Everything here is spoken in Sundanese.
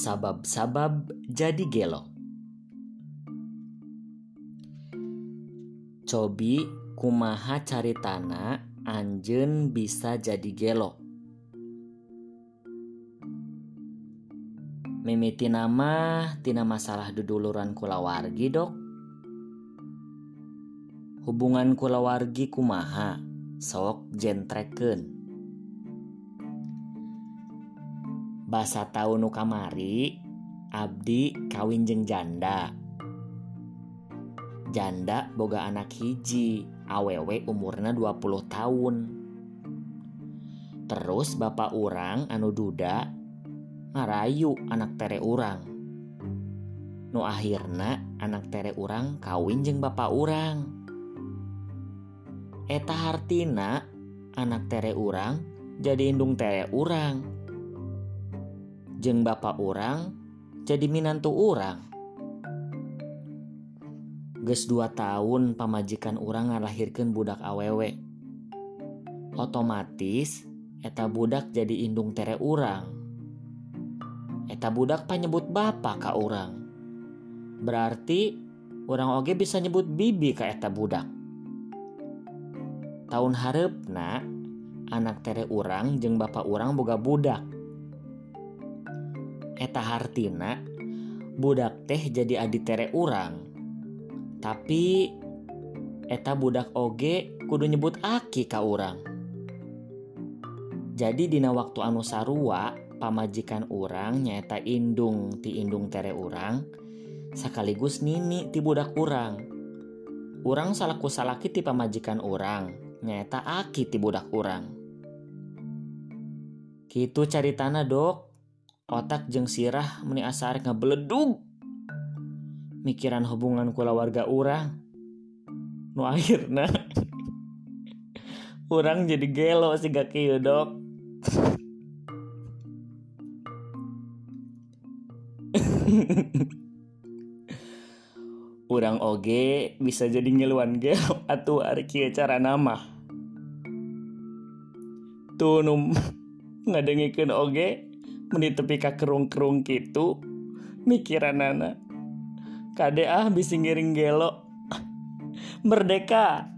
Sabab-sabab jadi gelo. Cobi kumaha caritana anjeun bisa jadi gelo. Mimiti nama tina masalah duduluran kulawargi dok. Hubungan kulawargi kumaha sok jentreken. Basa taun nu kamari abdi kawin jeung janda. Janda boga anak hiji, awewe umurna 20 tahun. Terus bapak urang anu duda ngarayu anak tere urang. Nu akhirna anak tere urang kawin jeung bapak urang. Eta hartina anak tere urang jadi indung tere urang. Jeung bapak urang jadi minantu urang. Geus 2 tahun pamajikan urang ngalahirkeun budak awewe. Otomatis eta budak jadi indung tere urang. Eta budak panyebut bapa ka urang. Berarti urang oge bisa nyebut bibi ka eta budak. Taun hareupna anak tere urang jeung bapa urang boga budak. Eta hartina budak teh jadi adi tere urang. Tapi eta budak oge kudu nyebut aki ka urang. Jadi dina waktu anu sarua pamajikan urang nyaeta indung ti indung tere urang sakaligus nini ti budak urang. Urang salaku salaki ti pamajikan urang nyaeta aki ti budak urang. Kitu caritana dok. Otak jeung sirah meni asa arek ngabeledug mikiran hubungan kulawarga urang. Nu akhirna urang jadi gelo siga kieu dok. Urang oge bisa jadi ngiluan gelo atuh ari kieu carana mah. Tuh nu ngadengikeun oge meni tepi ka kerung-kerung kitu mikiranana kade bisi ngiring gelo. Merdeka.